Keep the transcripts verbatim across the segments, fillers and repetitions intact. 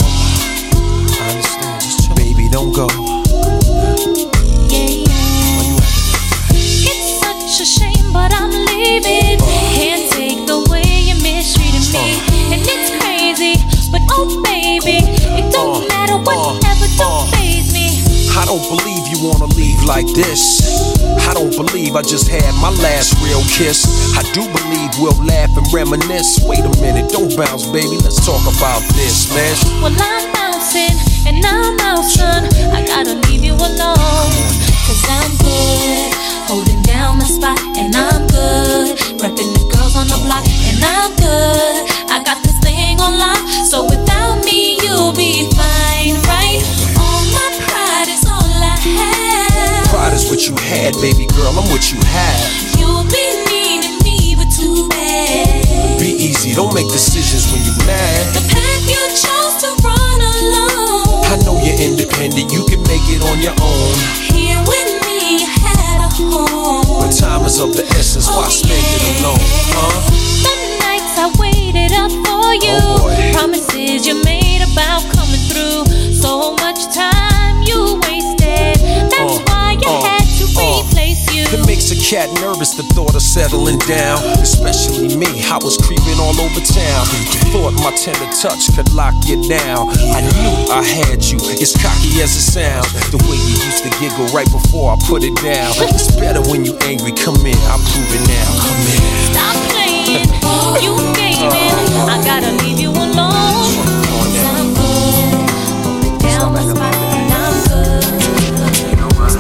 I understand. Just chill. Baby, don't go. Yeah, yeah. It's such a shame, but I'm leaving. Can't take the way you mistreated me. And it's crazy, but oh baby, it don't matter whatever, don't faze me. I don't believe you wanna leave like this. I don't believe I just had my last real kiss. I do believe we'll laugh and reminisce. Wait a minute, don't bounce, baby, let's talk about this, man. Well, I'm bouncing and I'm out, son. I gotta leave you alone, cause I'm good, holding down my spot, and I'm good, repping the girls on the block, and I'm good. I got this thing on lock, so without me you'll be fine, right? All my pride is all I have. Pride is what you had, baby girl, I'm what you have. You'll be needing me, but too bad. Be easy, don't make decisions when you're mad. The path you chose to run alone. I know you're independent, you can make it on your own. Here with me, you had a home. But time is of the essence, why oh, spend yeah. it alone, huh? The nights I waited up for you, oh promises you made about coming through. So much time you wasted, that's uh, why you uh, had to uh, replace you. It makes a cat nervous, the thought of settling down. Especially me, I was creeping all over town. Thought my tender touch could lock you down. I knew I had you, as cocky as it sounds. The way you used to giggle right before I put it down. It's better when you angry, come in, I'll prove it now. Come in. Stop playing, you gaming. I gotta leave you alone, cause I'm good, holding down my spot, and I'm good. You know what?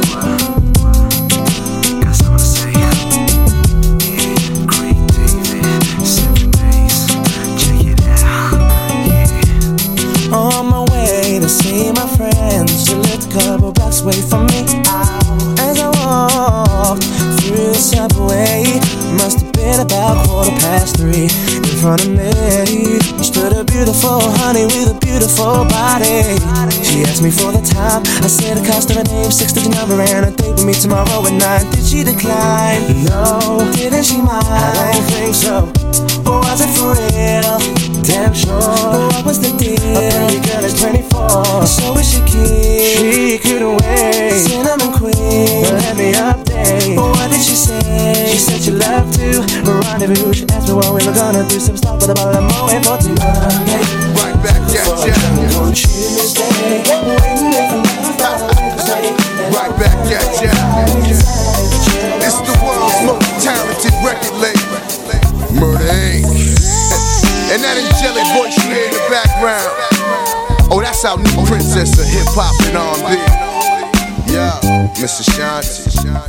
Got something to say. Yeah, Craig David, seven days. Check it out. Yeah. On my way to see my friends, you lived a couple blocks away from me. As I walked through the subway, must have been about quarter past three. In front of me stood a beautiful honey with a beautiful body. She asked me for the time, I said the cost of her name, six-digit number, and a date with me tomorrow at nine. Did she decline? No. Didn't she mind? I don't think so. Or was it for real? Damn sure. What was the deal? A pretty girl is twenty-four, so is she keen? She couldn't wait. Cinnamon queen, but let me update. What did she say? She said she loved to rendezvous. She asked me what we were gonna do. Some stuff, but about I'm waiting for tomorrow. Right back at ya. On Tuesday, waiting for Thursday. Right back at ya. It's the world's most talented record label, Murder Incorporated. And that angelic voice you hear in the background, oh, that's our new princess of hip hop and R and B. Yeah, Miss Ashanti.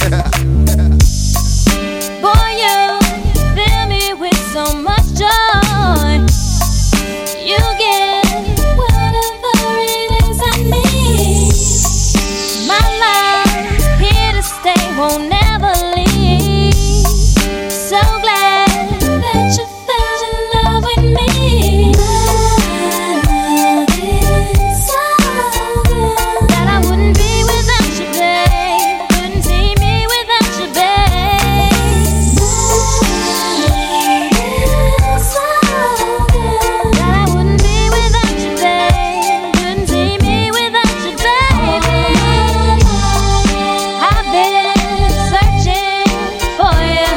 Boy, you fill me with so much joy. You get whatever it is I need. My love here to stay, won't never leave. So glad that you fell in love with me. My love is so good that I wouldn't be without you, babe. Couldn't see me without you, babe. My love is so good that I wouldn't be without you, babe. Couldn't see me without you, baby. I've been searching for you.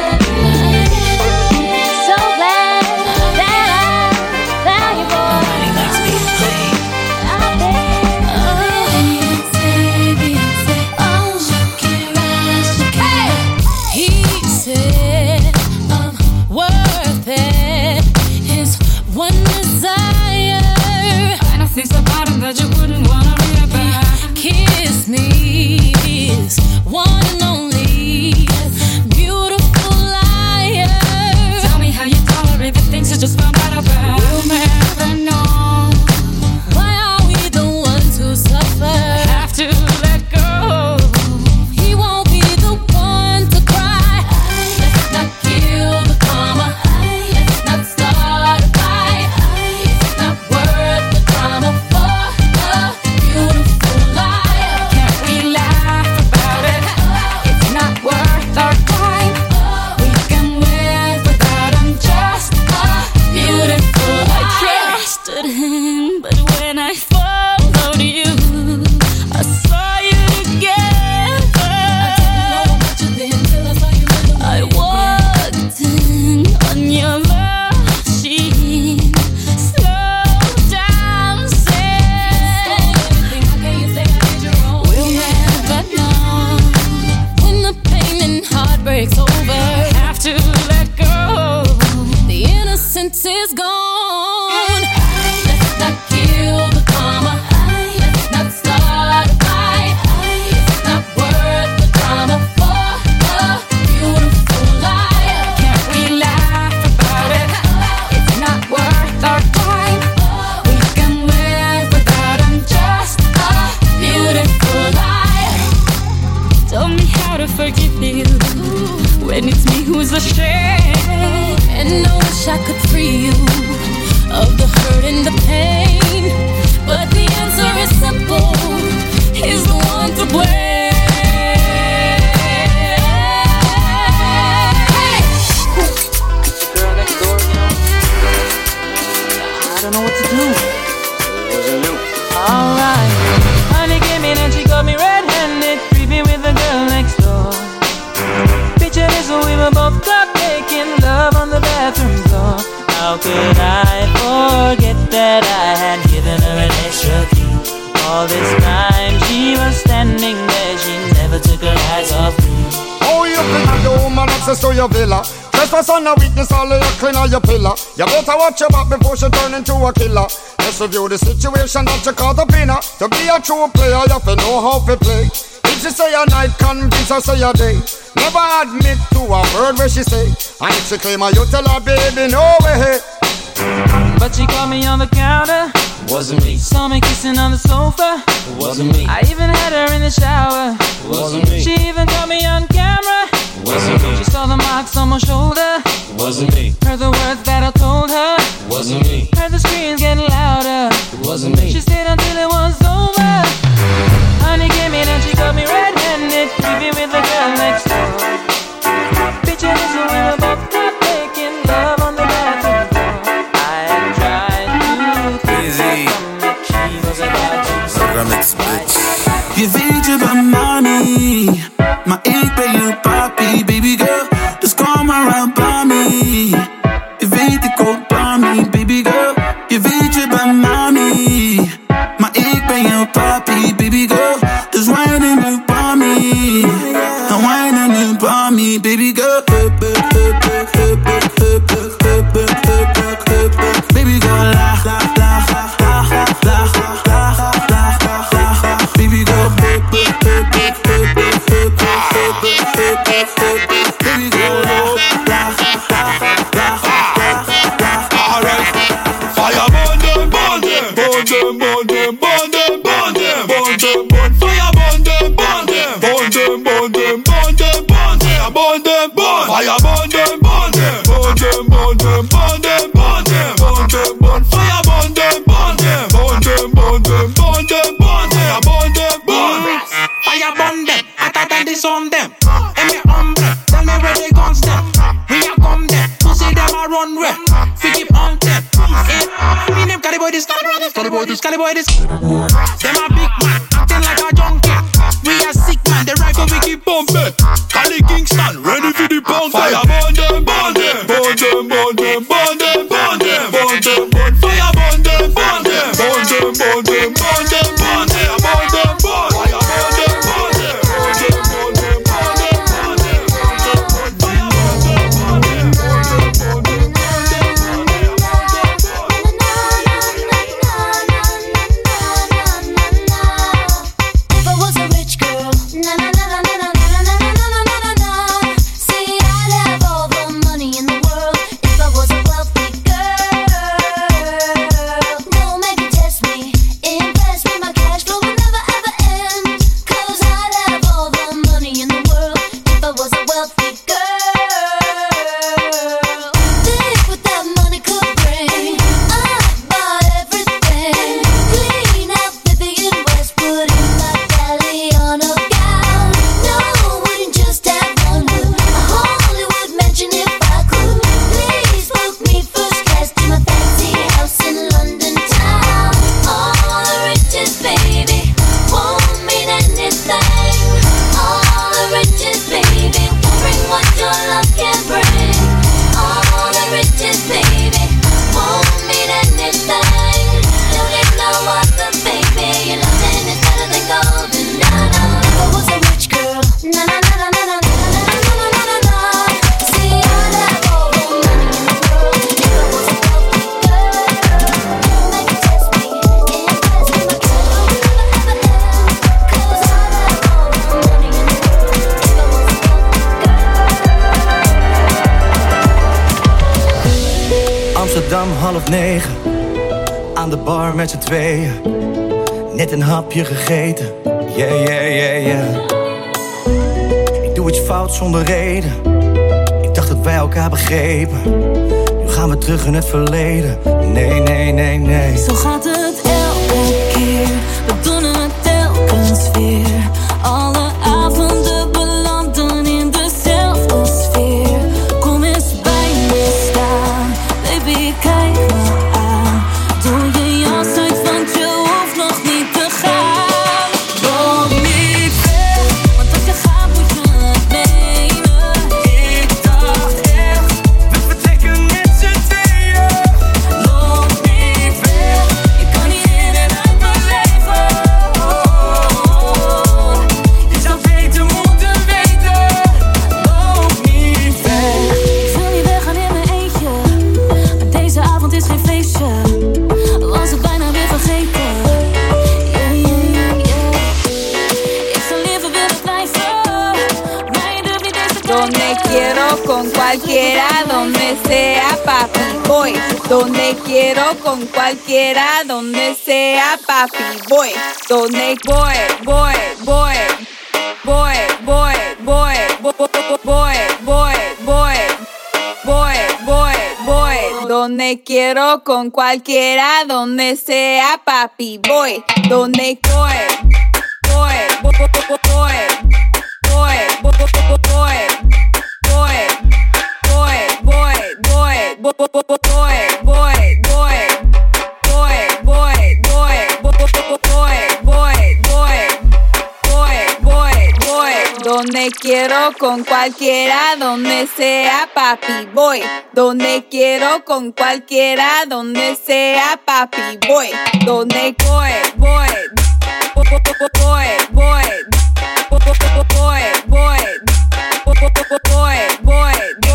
So glad that I found you, boy. I've been He said I'm worth it. His one desire, and I think about him that you wouldn't wanna read about. Kiss me, his one and only beautiful liar. Tell me how you tolerate the things you just found out about. We'll never know. Why are we the ones who suffer? Have to let go. He won't be the one to cry. Let's not kill the karma. Let's not start a fight. It's not worth the drama for us. then I followed you. I saw you together. I didn't know about you then till I saw you in the I walked in on your machine, slow dancing. How can you say I did you wrong? We'll never know when the pain and heartbreak's over. Have to let go. The innocence is gone. Let's not kill the karma. Let's not start a fight. It's not worth the drama for a beautiful life. Can't we laugh about it? It's not worth our time. We can live without him. Just a beautiful life. Tell me how to forgive you when it's me who's ashamed. And I wish I could free you of the hurt and the pain, but the answer is simple. He's the one to blame. Hey! Girl next door, you know? I don't know what to do. It wasn't you. Alright. Honey came in and she got me red-handed, creepy with the girl next door. Picture this, so we were both caught making love on the bathroom floor. How could I forget that I had given her an extra key? All this time she was standing there, she never took her eyes off me. Oh, you can have the woman access to your villa. Trespass on a weakness, all of your clean on your pillar. You better watch your back before she turn into a killer. Let's review the situation that you call the winner. To be a true player, you have to know how to play. If she say a night, convince her say a day. Never admit to a word where she say. And if she claim her, you tell her, baby, no way. But she caught me on the counter. Wasn't me. Saw me kissing on the sofa. Wasn't me. I even had her in the shower. Wasn't me. She even caught me on camera. Wasn't me. She saw the marks on my shoulder. Wasn't me. Heard the words that I told her. Wasn't me. Heard the screams getting louder. Wasn't me. She stayed until it was over. Honey came in and she got me red-handed, creepy with the girl next door. Picture this, we were both caught making love on the bathroom floor. I had tried to Easy. she was about to Remix, bitch. Je weet je bent mami, maar ik ben je papi, baby girl. Dus kom maar aan bij me. Je weet ik ook bij me, baby girl. Je weet je bent mami, maar ik ben je papi, baby girl. Dus whine nu bij me, en whine nu bij me, baby girl. Baby girl, laag, laag, laag, laag, laag, laag, laag, laag, laag, laag. Baby girl, baby girl, laag, laag, laag, laag, laag. Alright, fire burn them, burn them, burn them, burn them, burn them, burn them, burn them, burn fire burn them, burn them, burn them, burn them, burn them, burn them, burn them, burn fire burn them, burn them, burn them, burn them, burn them, burn them, burn them, burn fire burn them, burn them, burn them, burn them, burn them, burn them, burn them, burn fire burn them, hotter than the sun them. And me humble, tell me where they guns them. We a come them, pussy them a run where. We keep on them. Eh, me name Cali boy this, Cali boy this, Cali boy this, Cali boy this. Them a big man, acting like a junkie. We a sick man, the rifle we keep pumping. Cali Kingston, ready for the pound. fire burn them, burn them, burn them, burn them, burn them, burn them, burn them, burn fire burn them, burn them, burn them, burn them, burn them, burn them, burn them, burn fire burn them, burn them, burn them, burn them, burn them, burn them, burn them, burn fire burn them, burn them, burn them, burn them, burn them, burn them, burn them, burn If I was a rich girl, na na na na na na na na na na na na. See, I'd have all the money in the world. If I was a wealthy girl, no, maybe test me, impress me. negen, aan de bar met z'n tweeën, net een hapje gegeten. Yeah, yeah, yeah, yeah. Ik doe iets fout zonder reden. Ik dacht dat wij elkaar begrepen. Nu gaan we terug in het verleden. Nee, nee, nee, nee. Zo gaat het elke keer. We doen het telkens weer. Alle avonden belanden in dezelfde sfeer. Kom eens bij me staan, baby, kijk me aan. Doe je jas uit, want je hoeft nog niet te gaan. Loop niet weg, want als je gaat moet je het nemen. Ik dacht echt, we vertrekken met z'n tweeën. Loop niet weg, je kan niet in en uit mijn leven. Oh, je zou beter moeten weten. Loop niet weg. Ik wil niet weggaan in mijn eentje, maar deze avond is geen feestje. Was het bijna weer vergeten. Yeah, yeah, yeah, yeah. Ik zou liever willen blijven, maar je durft niet deze Donde quiero con cualquiera, donde sea papi, voy. Donde quiero con cualquiera, donde sea papi, voy. Donde voy, voy, voy, voy, voy, voy, voy, voy, voy, voy, voy, voy. Donde quiero con cualquiera, donde sea papi, voy. Donde voy, voy, voy, voy, voy, voy, voy, voy, voy, voy, donde quiero con cualquiera, donde sea papi, voy. Donde quiero con cualquiera, donde sea papi, voy. Donde voy, voy, voy, voy, voy, voy, voy, voy, voy, voy,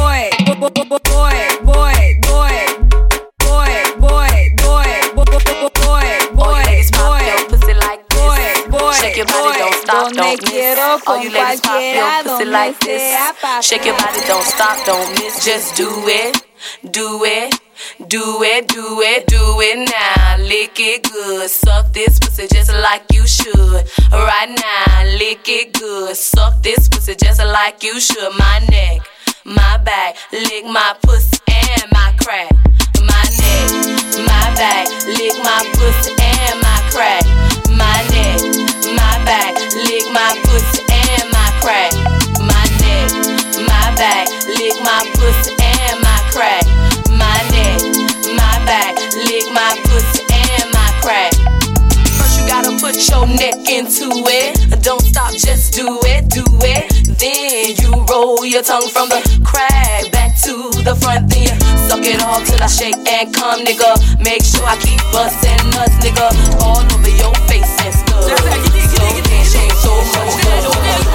Shake your body, don't stop, don't miss. All you ladies pop your pussy like this. Shake your body, don't stop, don't miss. Just do it, do it, do it, do it, do it now. Lick it good, suck this pussy just like you should. Right now, lick it good, suck this pussy just like you should. My neck, my back, lick my pussy and my crack. My neck, my back, lick my pussy and my crack. My neck, my back, lick my pussy and my crack. My neck, my back, lick my pussy and my crack. My neck, my back, lick my pussy and my crack. First you gotta put your neck into it. Don't stop, just do it, do it. Then you roll your tongue from the crack back to the front. Then you suck it all till I shake and come, nigga. Make sure I keep bustin' nuts, nigga. All over your face and stuff. So can't shake so much love.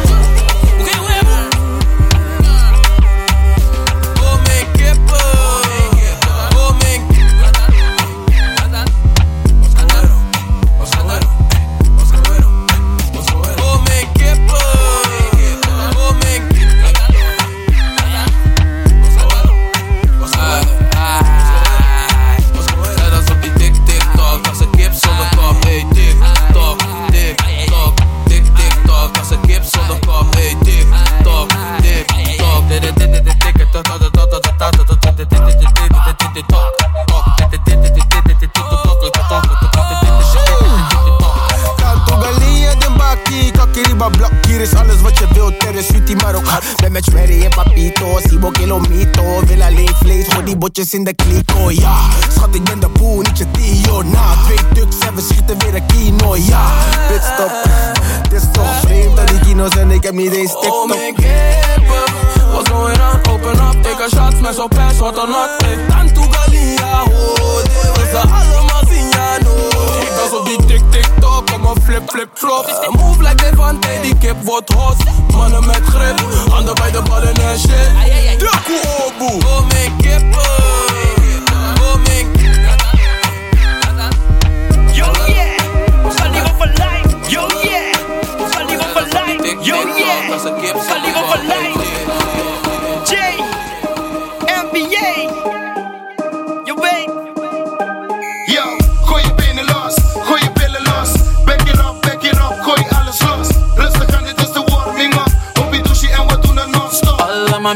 Hier is alles wat je wilt, er is sweetie maar ook hard. Ben met Sherry en Papito, Sibo Kilomito. Wil alleen vlees, gooi die botjes in de kliko, ja. Schat, ik ben de boe, niet je Dio. Na twee tuks en we schieten weer een kino, ja. Pitstop, het is toch vreemd dat die kino's en ik heb niet eens TikTok. Oh mijn kippen, what's going on? Open up, take a shot, smash op ass, what or not. Hey, tanto galia, oh, dit was ze allemaal zien, ja, no. Ik was op die tik-tik-tok, kom op flip, flip, flop. Move like Devante, die kip wordt hot. Mannen met grip, handen bij de ballen en shit. De koeboe, oh mijn kippen. Oh mijn kippen. Yo yeah, we gaan liever voor life. Yo yeah, we gaan liever voor life. Yo yeah, we gaan liever voor life. J, N B A, je weet.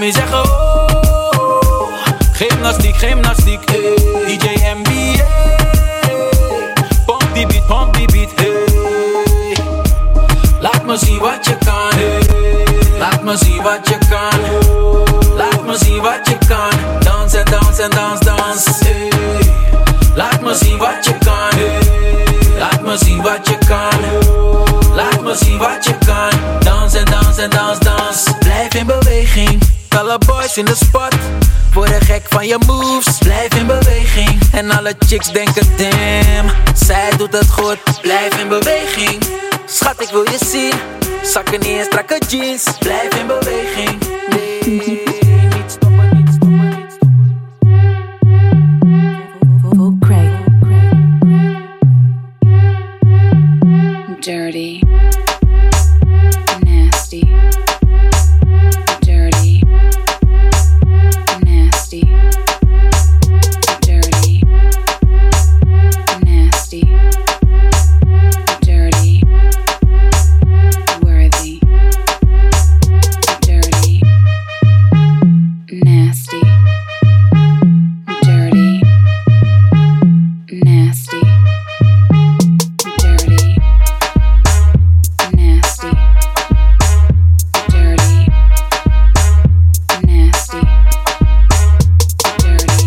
me zeggen oh. Gymnastiek, gymnastiek, hey. D J M B A. Pomp die beat, pomp die beat, hey. Laat me zien wat je kan, hey. Laat me zien wat je kan. Laat me zien wat je kan. Dans en dans en dans, dans, hey. Laat me zien wat je kan, hey. Laat me zien wat je kan. Laat me zien wat je kan. Dans en dans en dans, dans. Blijf in beweging. Alle boys in de spot worden gek van je moves. Blijf in beweging. En alle chicks denken damn, zij doet het goed. Blijf in beweging. Schat, ik wil je zien. Zakken niet in strakke jeans. Blijf in beweging. Nee, niet stoppen, niet stoppen, niet stoppen. Dirty, nasty, dirty, nasty, dirty, nasty, dirty, worthy, dirty, nasty, dirty, nasty, dirty. Nasty, dirty, nasty, dirty,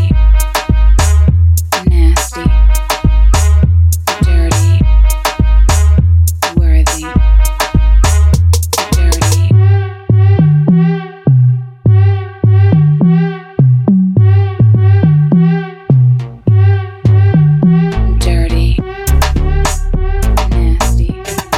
nasty, dirty, worthy, dirty, dirty, nasty.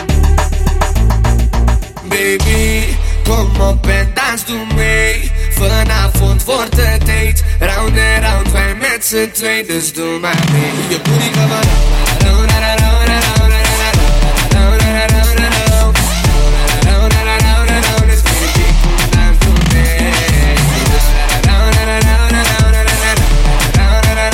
Baby, kom op en dans doe mee. Vanavond wordt het date. Round en round, wij met z'n twee, dus doe maar mee. Je booty kan maar round, round, round, round, round, round, round, round, round, round, round, round, round, round, dus baby, kom dans doe mee. Round, round, round, round, round, round, round, round,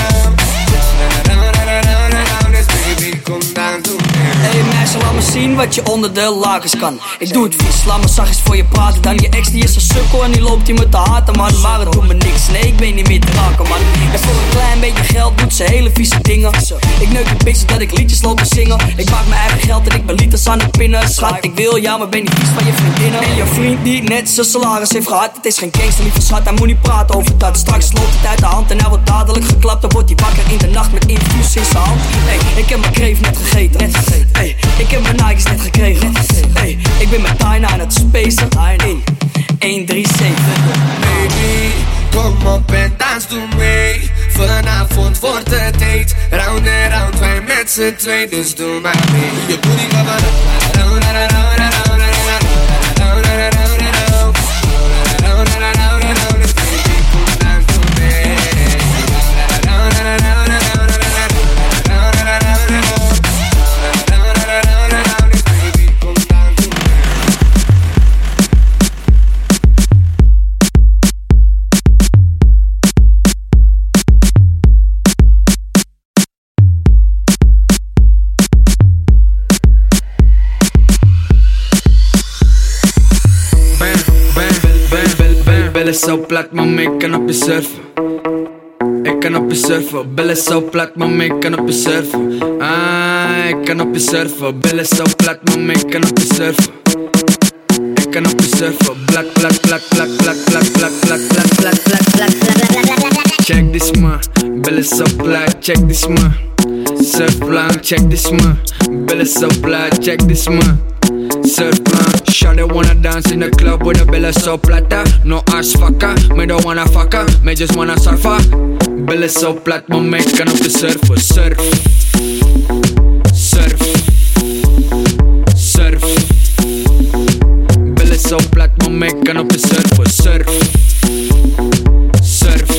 round, round, dus baby, kom dans doe mee. Hey meisje, laat me zien wat je onder de lakens kan. Ik doe het vies, laat me zachtjes voor je praten. Dan je ex die is een sukkel en die loopt hier met de haten, man. Maar het doet me niks, nee ik ben niet meer te raken, man. En voor een klein beetje geld doet ze hele vieze dingen. Ik neuk een beetje dat ik liedjes loop te zingen. Ik maak mijn eigen geld en ik ben liters aan het pinnen. Schat, ik wil ja, maar ben niet vies van je vriendinnen. En je vriend die net zijn salaris heeft gehad. Het is geen gangster, lieve schat, hij moet niet praten over dat. Straks loopt het uit de hand en hij wordt dadelijk geklapt. Dan wordt hij wakker in de nacht met infuus in zijn hand. Hey, ik heb mijn kreef net gegeten, net gegeten. Hey, ik heb mijn Nike's net gekregen. Hey, ik ben met Tyna aan het spacen. In één drie zeven. Baby, kom op en dans doe mee. Vanavond wordt het date. Round en round, wij met z'n twee, dus doe maar mee. Je booty kan maar round, round, round, round, round, round, round, round, round, round, round, round, round, dus baby, kom dans doe mee. Round, round, round, round, round, round, round, round, round, Billen zo plat, mama, ik kan op je surfen. Ik kan op je surfen. Billen zo plat, mama, ik kan op je surfen. Ah, ik kan op je surfen. Billen zo plat, mama, ik kan op je surfen. Ik kan op je surfen. Blak, blak, blak, blak, blak, blak, blak, blak, blak, blak, blak, blak. Check this man, billen zo plat, check this man. Surfplan, check this man. Billen zo plat, check this man. Surfplan, shawty wanna dance in the club with a billen so plata. No ass fucker, me don't wanna fucker, me just wanna surfer. Billen so plat, mama, ik kan op je surfen. Surf, surf, surf. Billen so plat, mama, ik kan op je surfen. Surf, surf,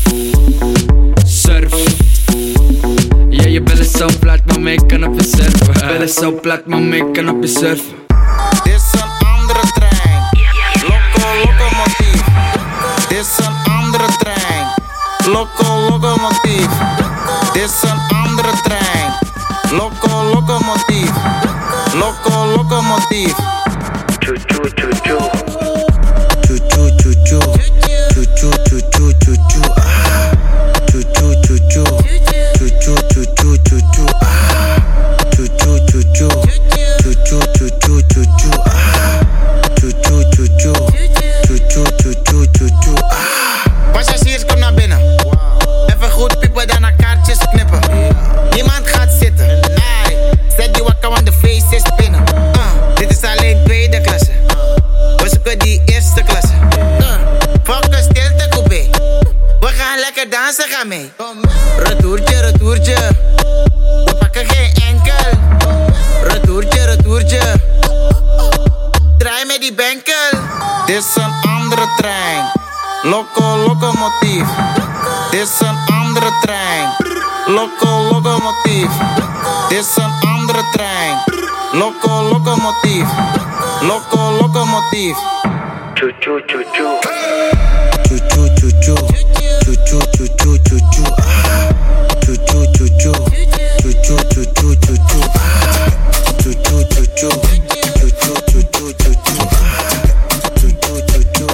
surf. Yeah, je billen so plat, mama, ik kan op je surfen. Billen so plat, mama, ik kan op je surfen. Dit is een andere trein, loco locomotief. Dit is een andere trein, loco locomotief. Dit is een andere trein, loco locomotief. Loco locomotief. Choo choo choo choo. Choo choo choo choo. Dit is een andere trein. Loco, locomotief. Dit is een andere trein. Loco, locomotief. Dit is een andere trein. Loco, locomotief. Loco, locomotief. Choo choo choo choo. Choo choo choo choo. Choo choo choo choo choo choo. Choo choo choo choo. Choo choo choo choo choo choo. Choo choo choo choo. Choo choo choo choo choo choo. Choo choo choo choo.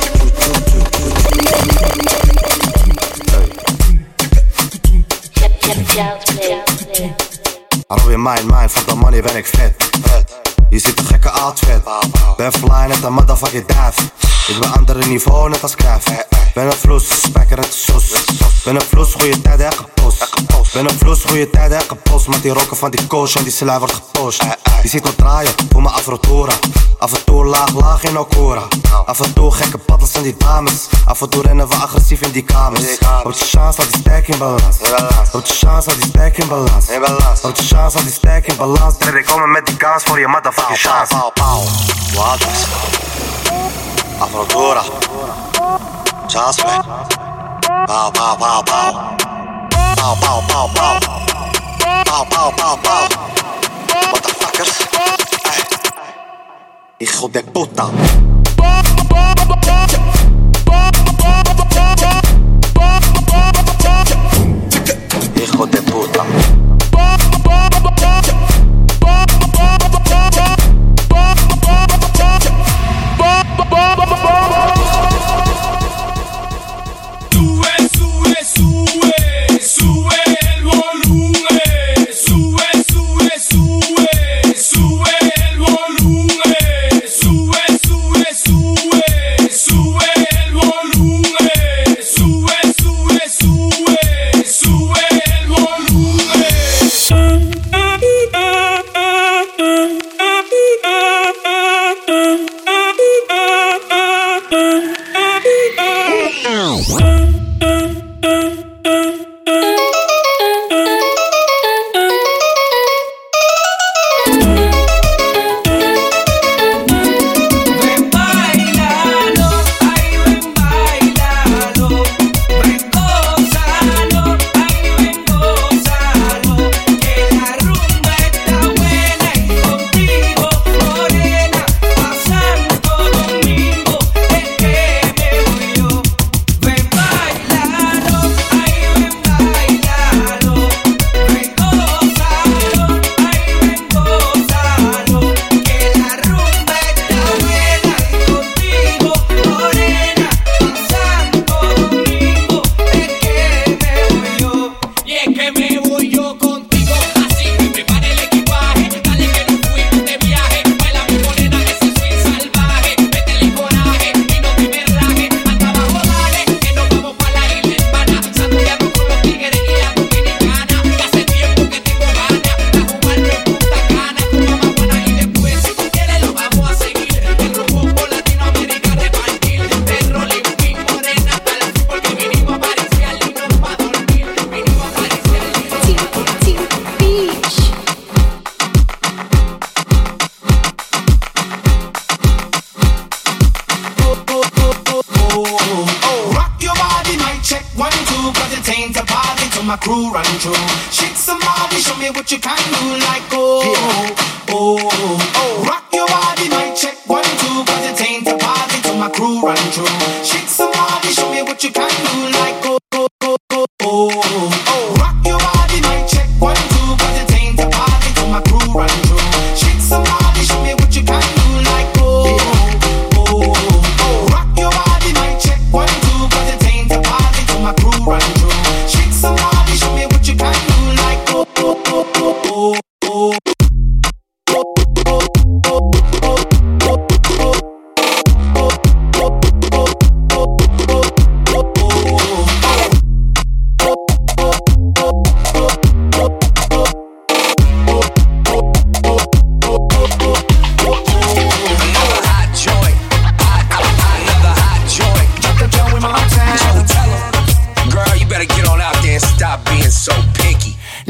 Robin mijn mind, fuck the money ben ik vet. Je ziet een gekke outfit. Ben fly net een motherfucking dive. Ik ben andere niveau net als Craft. Ben een vloes, spijker het soes. Ben een vloes, goeie tijd en gepost. Ben een vloes, goeie tijd en gepost. Met die rokken van die coach en die slij wordt gepost. Je ziet me draaien, voor mijn afrotora. Af en toe laag, laag in Okora. Af en toe gekke paddels aan die dames. Af en toe rennen we agressief in die kamers. Houd je chance, laat die stack in balans. Houd je chance, laat die stack in balans. Houd je chance, laat die stack in balans. Derde komen met die kans voor je motherfucking chance. Pauw, pauw, wat is? Afrodora. Chance me. Pauw, pauw, pauw, pauw. Pauw, pauw, pauw, pauw. Pauw, pauw, pauw, pauw. Motherfuckers. Hey. Hijo de puta. Hijo de puta.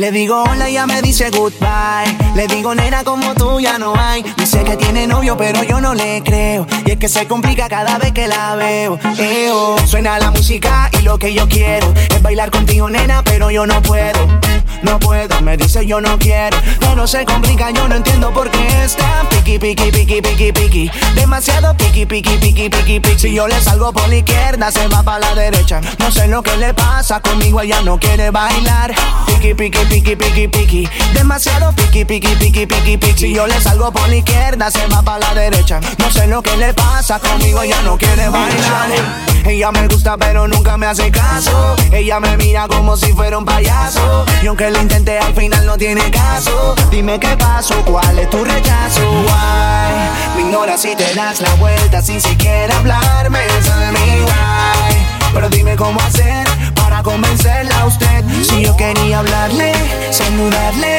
Le digo hola y ya me dice goodbye. Le digo nena como tú ya no hay. Dice que tiene novio pero yo no le creo. Y es que se complica cada vez que la veo. Eo. Suena la música y lo que yo quiero es bailar contigo nena pero yo no puedo. No puedo, me dice yo no quiero. Pero se complica, yo no entiendo por qué está piqui, piqui, piqui, piqui, piqui. Demasiado piqui, piqui, piqui, piqui, piqui. Si yo le salgo por la izquierda se va para la derecha. No sé lo que le pasa, conmigo ella no quiere bailar. Piqui, piqui, piqui, piqui, piqui. Demasiado piqui, piqui, piqui, piqui, piqui. Si yo le salgo por la izquierda se va para la derecha. No sé lo que le pasa, conmigo ella no quiere bailar. Ella me gusta pero nunca me hace caso. Ella me mira como si fuera un payaso. Y aunque lo intenté al final no tiene caso. Dime qué pasó, cuál es tu rechazo. Why? Me ignoras y te das la vuelta sin siquiera hablarme. Tell me why. Pero dime cómo hacer para convencerla a usted. Si yo quería hablarle, saludarle,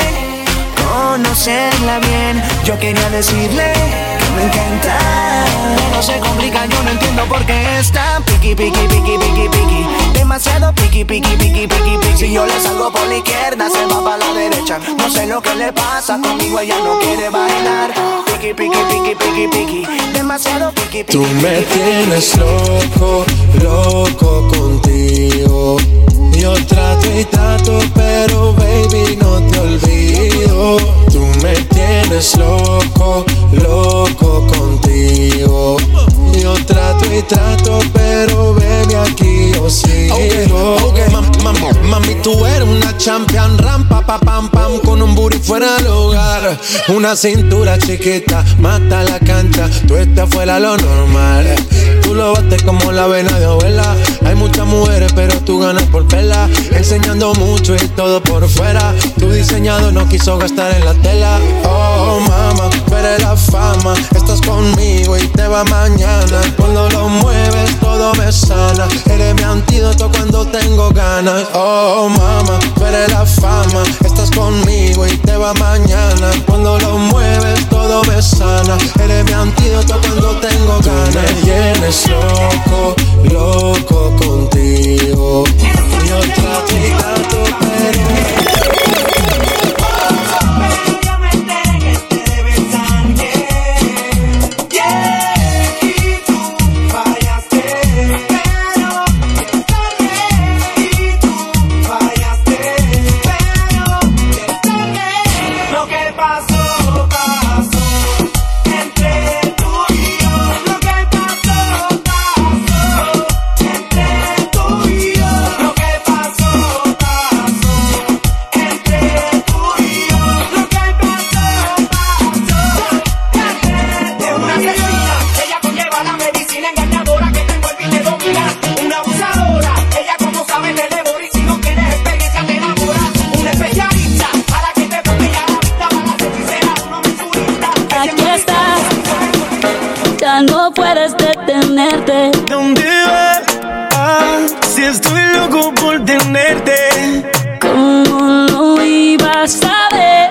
conocerla bien. Yo quería decirle que me encanta. Pero se complica, yo no entiendo por qué está piqui, piqui, piqui, piqui, piqui. Demasiado piqui, piqui, piqui, piqui, piqui. Si yo le salgo por la izquierda se va para la derecha. No sé lo que le pasa, conmigo ella no quiere bailar. Piqui, piqui, piqui, piqui, piqui. Demasiado piqui, piqui. Tú me tienes loco, loco contigo. Yo trato y trato, pero baby no te olvido. Tú me tienes loco, loco contigo. Yo trato y trato, pero baby aquí yo sigo. Okay, okay. Mam, mam, mami, tú eres una champion, rampa, pa, pam, pam, con un booty fuera del hogar. Una cintura chiquita, mata la cancha, tú estás fuera lo normal. Tú lo bates como la vena de abuela. Hay muchas mujeres, pero tú ganas por pela. Enseñando mucho y todo por fuera. Tu diseñado no quiso gastar en la tela. Oh, mama, tú eres la fama. Estás conmigo y te va mañana. Cuando lo mueves todo me sana. Eres mi antídoto cuando tengo ganas. Oh, mama, tú eres la fama. Estás conmigo y te va mañana. Cuando lo mueves todo me sana. Eres mi antídoto cuando tengo ganas. Tú me tienes loco, loco contigo. Yo trato y trato, pero no puedes detenerte. ¿Dónde vas? Ah, si estoy loco por tenerte. ¿Cómo lo ibas a ver?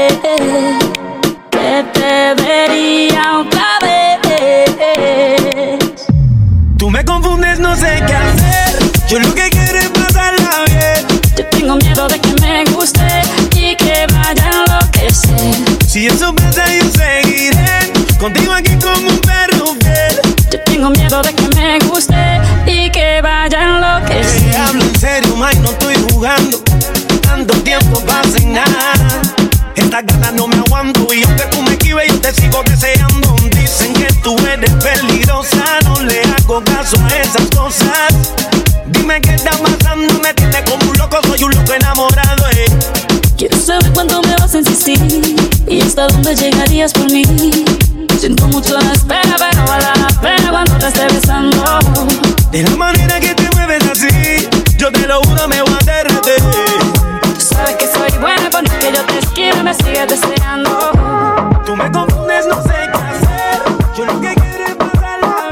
Que te vería otra vez. Tú me confundes, no sé qué hacer. Yo lo que quiero es pasarla bien. Yo tengo miedo de que me guste y que vaya a enloquecer. Si eso pasa yo seguiré contigo aquí como un perro fiel. Yo tengo miedo de que me guste y que vaya a enloquecer. Te hablo en serio, Mike, no estoy jugando. Tanto tiempo pasa en nada. Estas ganas no me aguanto y aunque tú me esquives yo te sigo deseando. Dicen que tú eres peligrosa, no le hago caso a esas cosas. Dime qué está pasando, me tienes como un loco, soy un loco enamorado, eh. Quiero saber cuándo me vas a insistir y hasta dónde llegarías por mí. Siento mucho la espera, pero vale la pena cuando te esté besando. De la manera que te mueves así, yo te lo juro me voy a derretir. Sabes que soy buena, por más que yo te esquive me sigues deseando. Tú me confundes, no sé qué hacer. Yo lo que quiero es pasarla.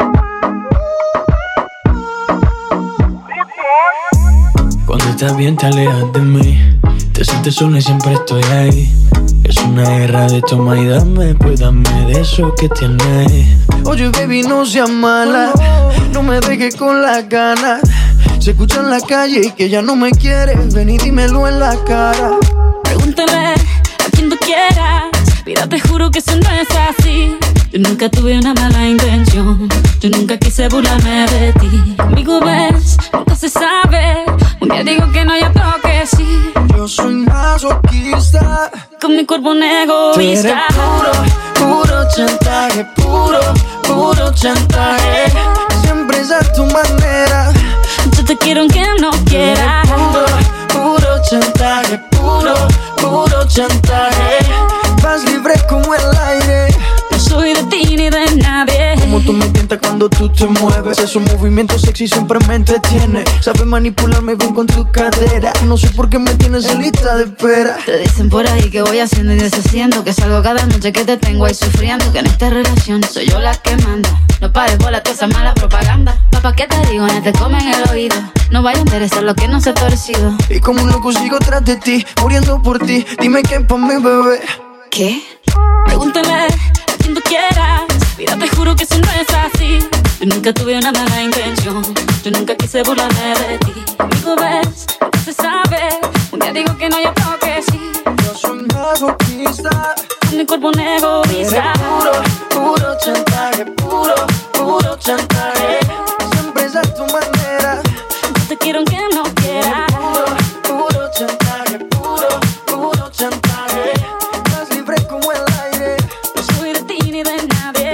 Cuando estás bien te alejas de mí. Te sientes sola y siempre estoy ahí. Es una guerra de toma y dame, pues dame de eso que tienes. Oye baby no seas mala, no me dejes con las ganas. Se escucha en la calle y que ya no me quieres. Ven y dímelo en la cara. Pregúntale a quien tú quieras. Mira, te juro que eso no es así. Yo nunca tuve una mala intención. Yo nunca quise burlarme de ti. Conmigo ves, nunca se sabe. Un día digo que no, y otro que sí. Yo soy masoquista. Con mi cuerpo un egoísta. Tú eres puro, puro chantaje. Puro, puro chantaje. Siempre es a tu manera. Yo te quiero aunque no quieras. Puro, puro chantaje. Puro, puro chantaje. Vas libre como el aire. No soy de ti ni de nadie. Como tú me tientas cuando tú te mueves. Esos movimientos sexy siempre me entretiene. Sabes manipularme bien con tu cadera. No sé por qué me tienes en lista de espera. Te dicen por ahí que voy haciendo y deshaciendo, que salgo cada noche que te tengo ahí sufriendo, que en esta relación soy yo la que manda. No pares bola toda esa mala propaganda. Papá, ¿qué te digo? No te comen el oído. No vaya a interesar lo que no se ha torcido. Y como un loco sigo tras de ti, muriendo por ti. Dime qué pa' mi bebé. ¿Qué? Pregúntale a quien tú quieras. Mira, te juro que eso no es así. Yo nunca tuve una mala intención. Yo nunca quise burlarme de ti. Conmigo ves, nunca se sabe. Un día digo que no, y otro que sí. Yo soy masoquista. Con mi cuerpo un egoísta. Puro, puro chantaje. Puro, puro chantaje. Siempre es a tu manera. Yo te quiero aunque no quieras. Puro, puro chantaje. Puro, puro chantaje. Vas libre como el aire. No soy de ti ni de nadie.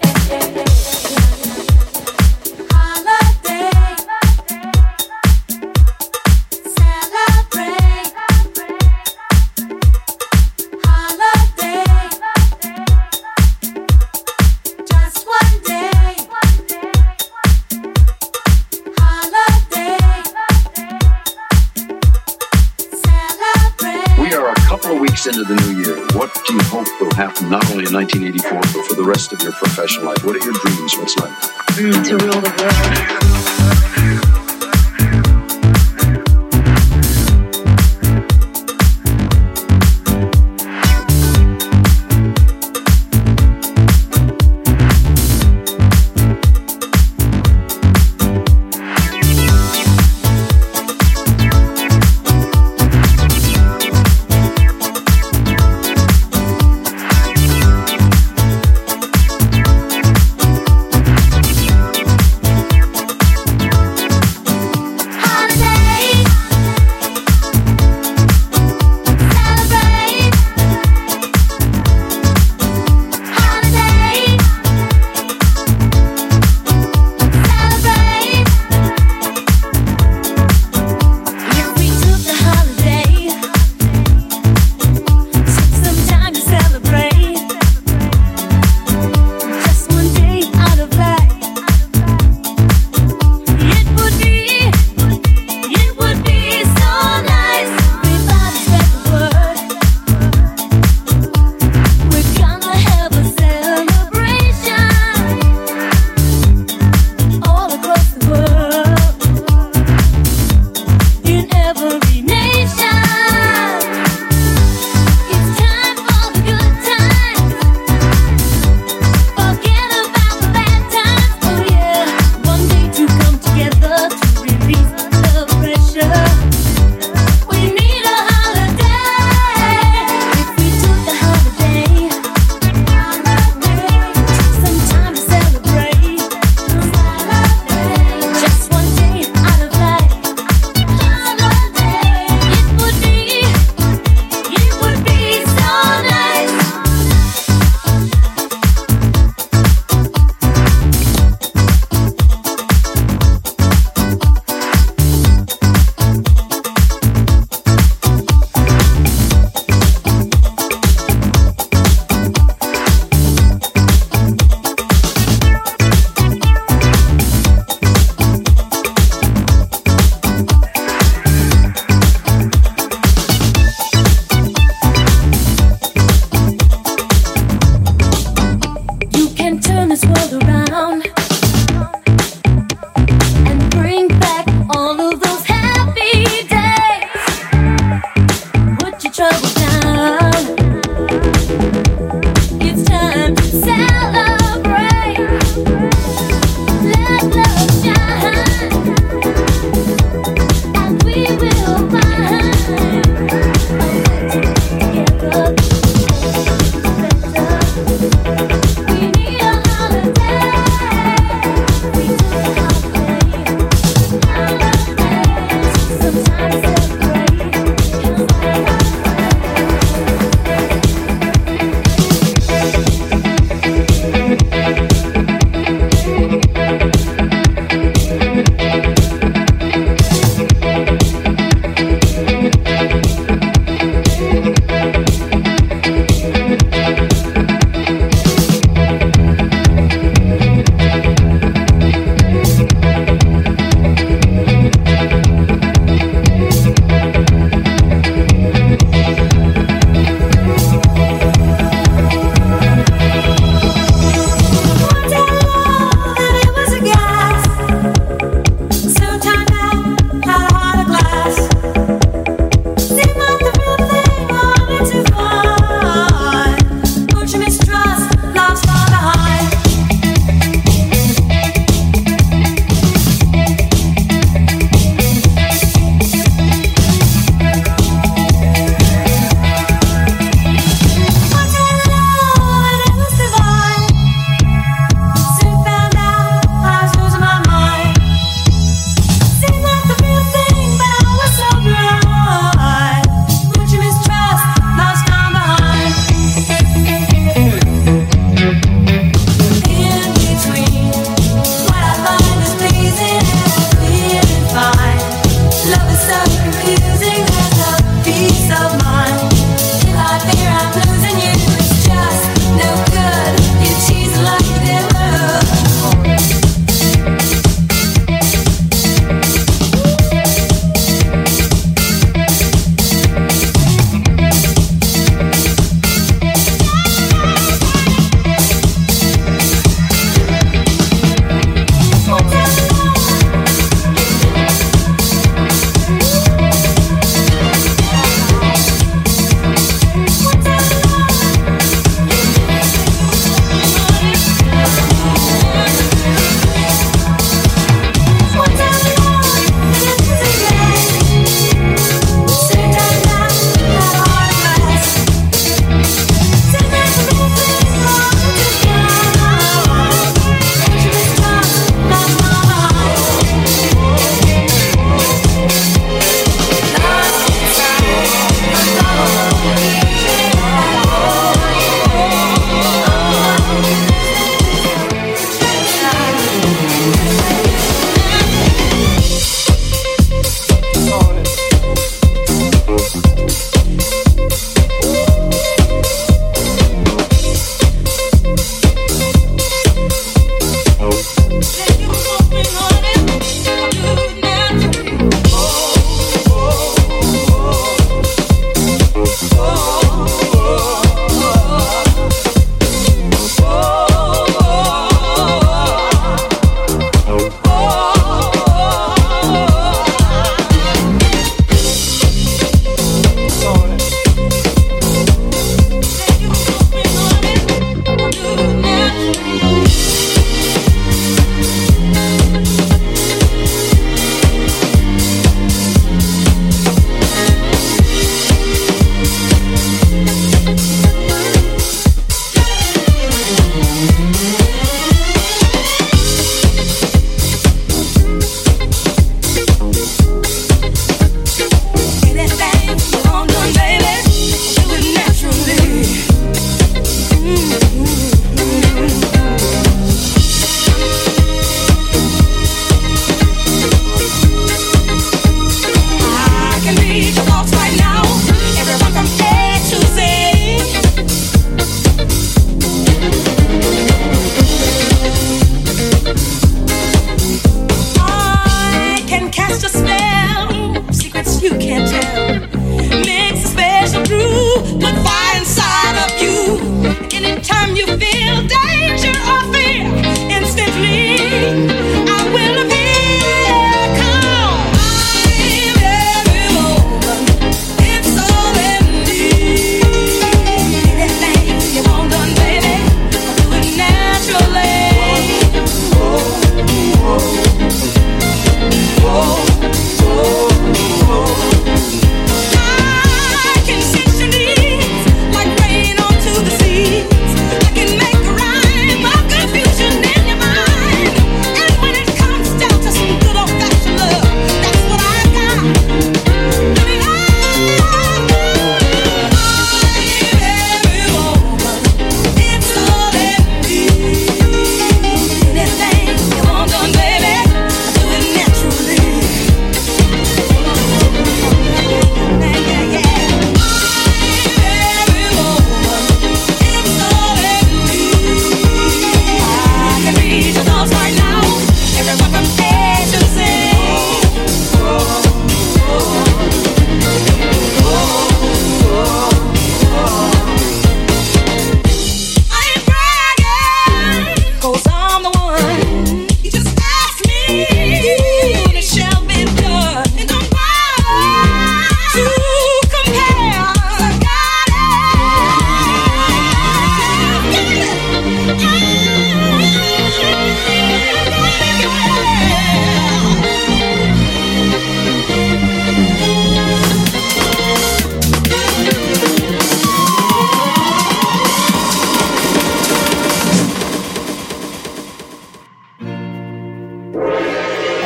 Into the new year, what do you hope will happen not only in nineteen eighty-four but for the rest of your professional life? What are your dreams? What's like? Mm, to rule the world.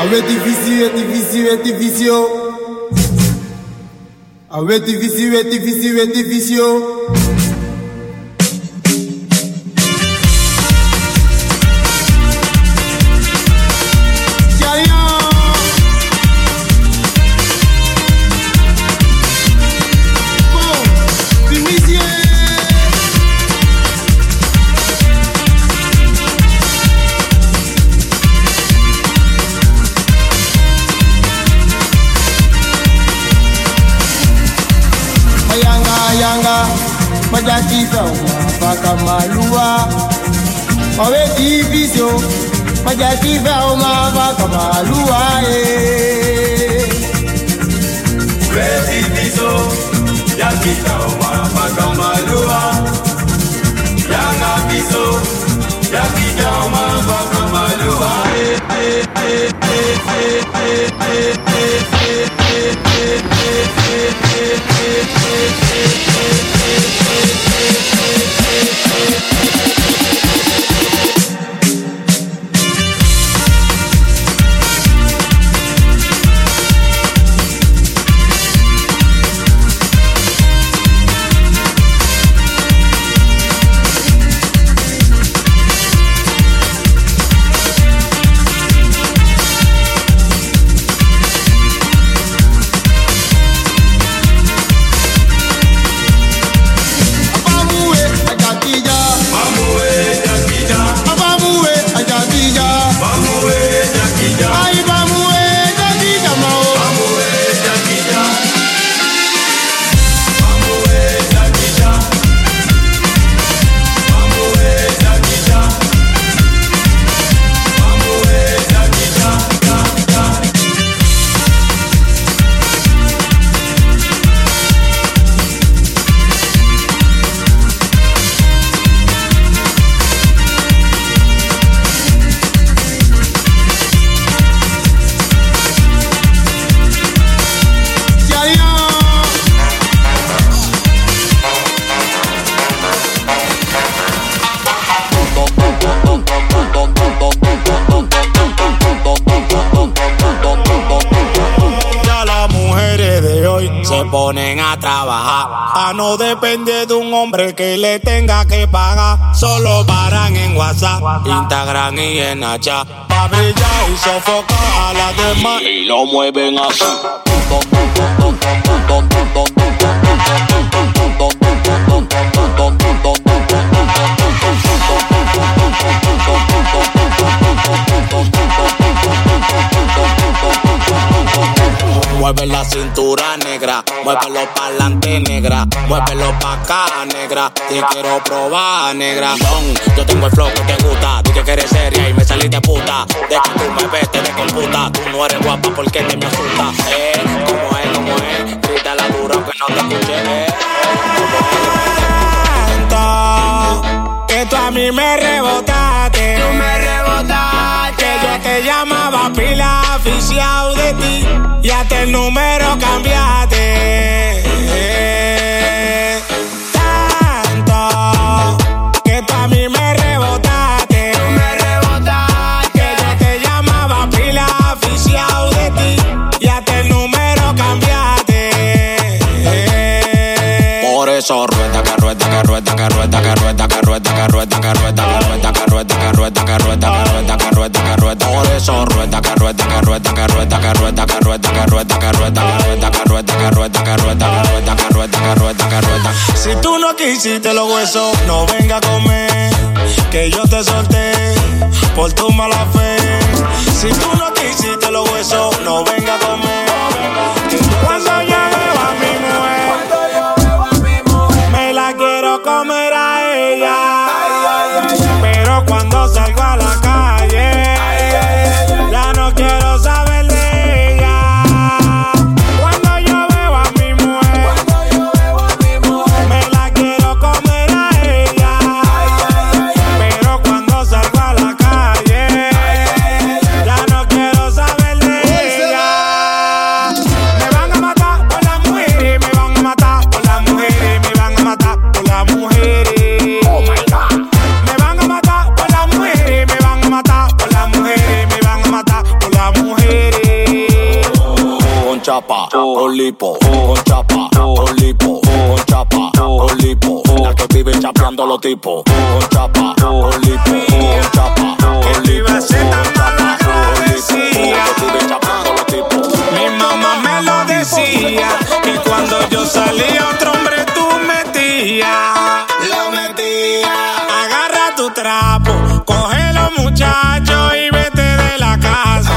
Avec difficile, difficile, difficile. Avec difficile, difficile, difficile. Majatifa umafaka malua Mawe divisio Majatifa umafaka malua eh. Mawe divisio Yakita umafaka malua Yanga biso Yakita umafaka malua eh, eh, eh, eh, eh, eh, eh, eh, eh, eh, eh, eh, ponen a trabajar, a no depender de un hombre que le tenga que pagar. Solo paran en WhatsApp, Instagram y en Snapchat, pa' brillar y sofocar a las demás. Y lo mueven así. Mueve la cintura negra, muévelo pa'lante negra, muévelo pa' acá negra, te quiero probar negra. Yo tengo el flow que te gusta, tú que eres seria y me saliste puta. De que tú me ves, te descomputa, tú no eres guapa porque te me asusta. Eh, como es, como es, grítala duro que no te escuché. Eh, como es. Que tú a mí me rebotaste, tú me rebotaste, que yo te llamaba pila aficiado de ti. Y hasta el número cambiaste eh, tanto que tú a mí me rebotaste, tú me rebotaste, que yo te llamaba pila aficiado de ti y hasta el número cambiaste eh. Por eso rueda, que rueda, que rueda, que rueda, que rueda, que rueda, que rueda, que rueda, que rueda, que rueda, que rueda, que rueda, que rueda, que rueda, que rueda. Por eso rueda, que rueda, que rueda, que rueda, que rueda, que rueda, que rueda, que rueda, que rueda, que rueda, que rueda, que rueda, que rueda, que rueda, que rueda. Si tú no quisiste los huesos, no venga a comer, que yo te solté por tu mala fe. Si tú no quisiste los huesos, no venga a comer. Cuando yo veo a mi mujer, cuando yo veo a mi mujer, me la quiero comer a ella. Pero cuando salgo a la calle, ya no quiero saber de ella. Cuando yo veo a mi mujer, cuando yo veo a mi mujer, me la quiero comer a ella. Pero cuando salgo a la calle, ya no quiero saber de ella. Me van a matar por las mujeres, me van a matar por las mujeres, me van a matar por las mujeres. Oh my God. Me van a matar por las mujeres, me con lipo, con chapa, con lipo, con chapa, con lipo. La que vive chapeando los tipos, con chapa, con lipo, con chapa, con lipo, con chapa, con lipo. La que vive chapeando los tipos. Mi mamá me lo decía, que cuando yo salía otro hombre tú metías. Lo metía. Agarra tu trapo, coge los muchachos y vete de la casa.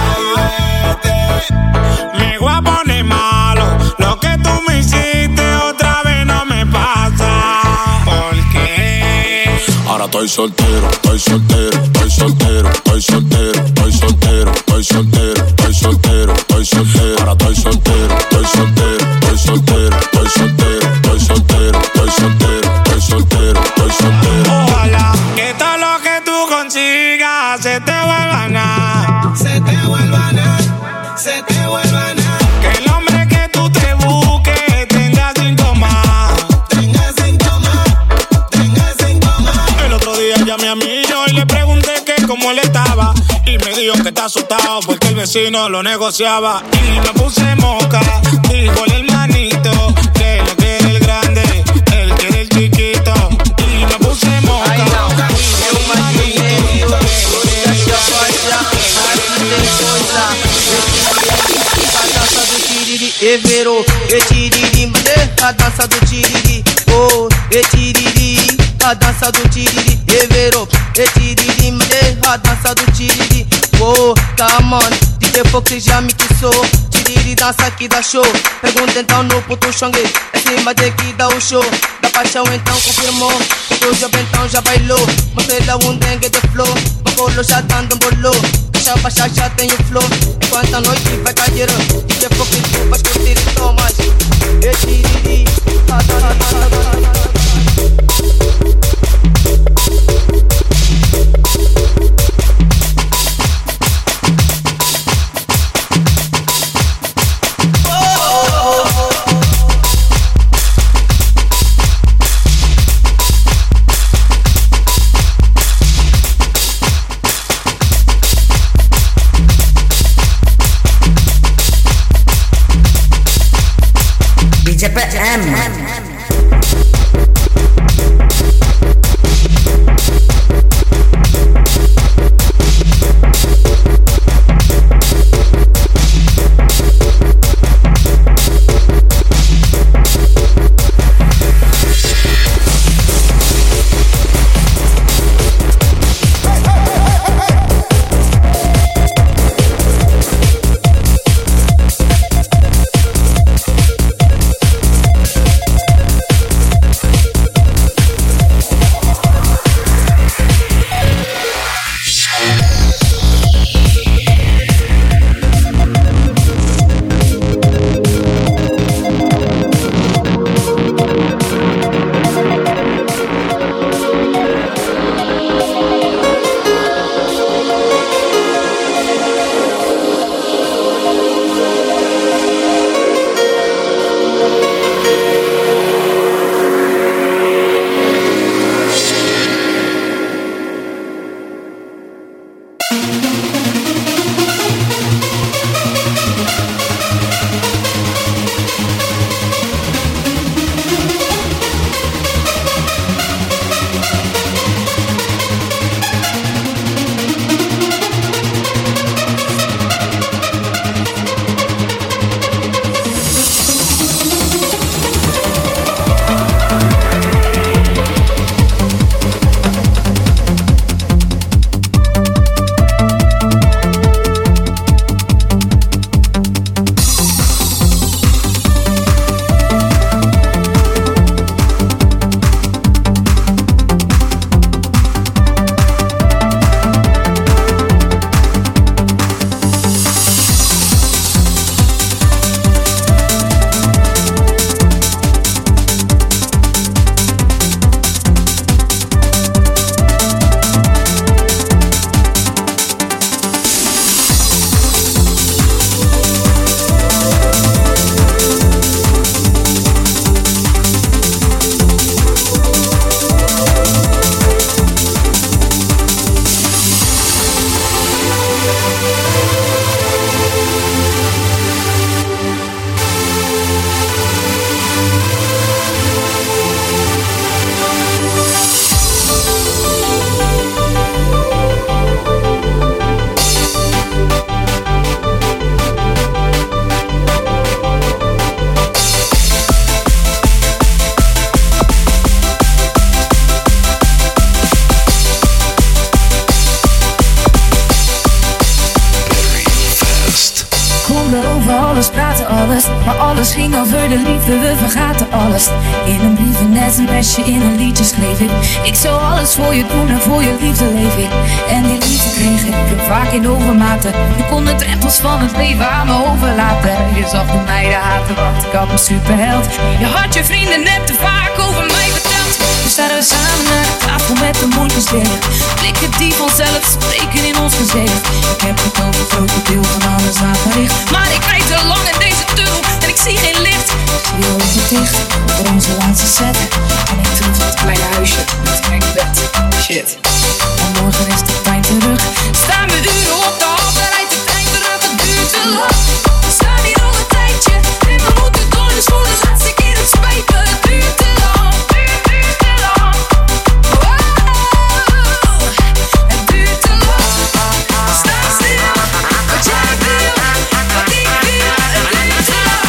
Me voy a poner malo, lo que tú me hiciste otra vez no me pasa. ¿Por qué? Ahora estoy soltero, estoy soltero, estoy soltero, estoy soltero, estoy soltero, estoy soltero, estoy soltero, estoy soltero. Ahora estoy soltero, estoy soltero, estoy soltero, estoy soltero, estoy soltero, estoy soltero, estoy soltero, estoy soltero. Ojalá que todo lo que tú consigas se te vuelva nada. Se te vuelva nada, se te vuelva nada. Que el hombre que tú te busques tenga cinco más. Tenga cinco más, tenga cinco más. El otro día llamé a mi yo y le pregunté que cómo él estaba. Y me dijo que está asustado porque el vecino lo negociaba. Y me puse moca, dijo el hermanito, que lo quiere el grande, él quiere el chiquito. Y me puse moca, dijo el hermanito, que lo quiere el E vero, e tiriri, mande a dança do tiriri. Oh, e tiriri, a dança do tiriri. E vero, e tiriri, mande a dança do tiriri. Oh, come on, D J Fox já me quissou. Tiriri dança aqui dá show. Pergunta então no puto xongue, é cima de que dá o show. Da paixão então confirmou, o jovem então já bailou. Mostrei lá um dengue de flow, bacolo já dando um bolô. Caixa baixa já tem o flow, enquanto a noite vai cair. D J Fox tu vai curtir e tomas. E tiriri, a dança. D J P M. alles, praten alles. Maar alles ging over de liefde, we vergaten alles. In een brief, een sms'je, in een liedje schreef ik. Ik zou alles voor je doen en voor je liefde leef ik. En die liefde kreeg ik, ik vaak in overmaten. Je kon de drempels van het leven aan me overlaten. Je zag de meiden haten, want ik had een superheld. Je had je vrienden net te vaak over mij verteld. Nu staan we samen naar de tafel met de mondjes dicht. Blikken die vanzelf spreken in ons gezicht. Ik heb het over het grote deel van alles aangericht. Maar ik rijd te lang in deze tunnel en ik zie geen licht. Ik zie je ogen dicht voor onze laatste set. En ik terug naar het kleine huisje met mijn bed. Shit. En morgen is de trein terug. Staan we uren op de hal, dan rijdt de trein terug. Het duurt te lang. We staan hier al een tijdje en we moeten door, dus voor de laatste keer het spijt me. Het duurt te lang. Het duurt te lang. Wow. Het duurt te lang. Sta stil. Wat jij wil, wat ik wil. Het duurt te lang.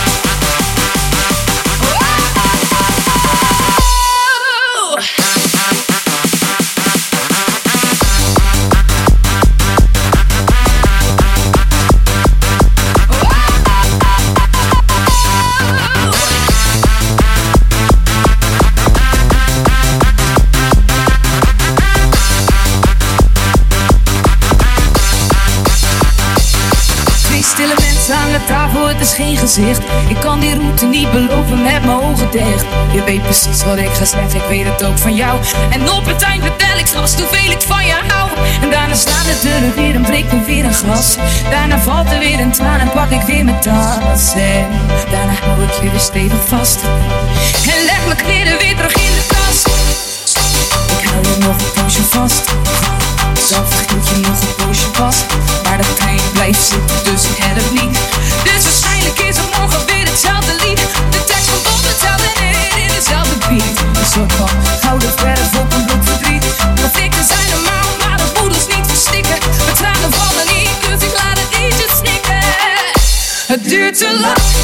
Stille mensen aan de tafel, het is geen gezicht. Ik kan die route niet beloven met mijn ogen dicht. Je weet precies wat ik ga zeggen, ik weet het ook van jou. En op het eind vertel ik straks hoeveel ik van je hou. En daarna slaan de deuren weer en breekt er weer een glas. Daarna valt er weer een traan en pak ik weer mijn tas. En daarna hou ik je weer stevig vast. En leg mijn kleren weer terug in de tas. Ik hou je nog een poosje vast. Zacht hield je nog een poosje vast. Maar de trein blijft zitten, dus ik red het niet. Dus waarschijnlijk is het morgen weer hetzelfde lied. De tekst komt op hetzelfde neer in dezelfde beat. Een soort van gouden verf op een blok verdriet. Conflicten zijn normaal, maar dat moet ons niet verstikken. Mijn tranen vallen niet, dus ik laat het liedje snikken. Het duurt te lang.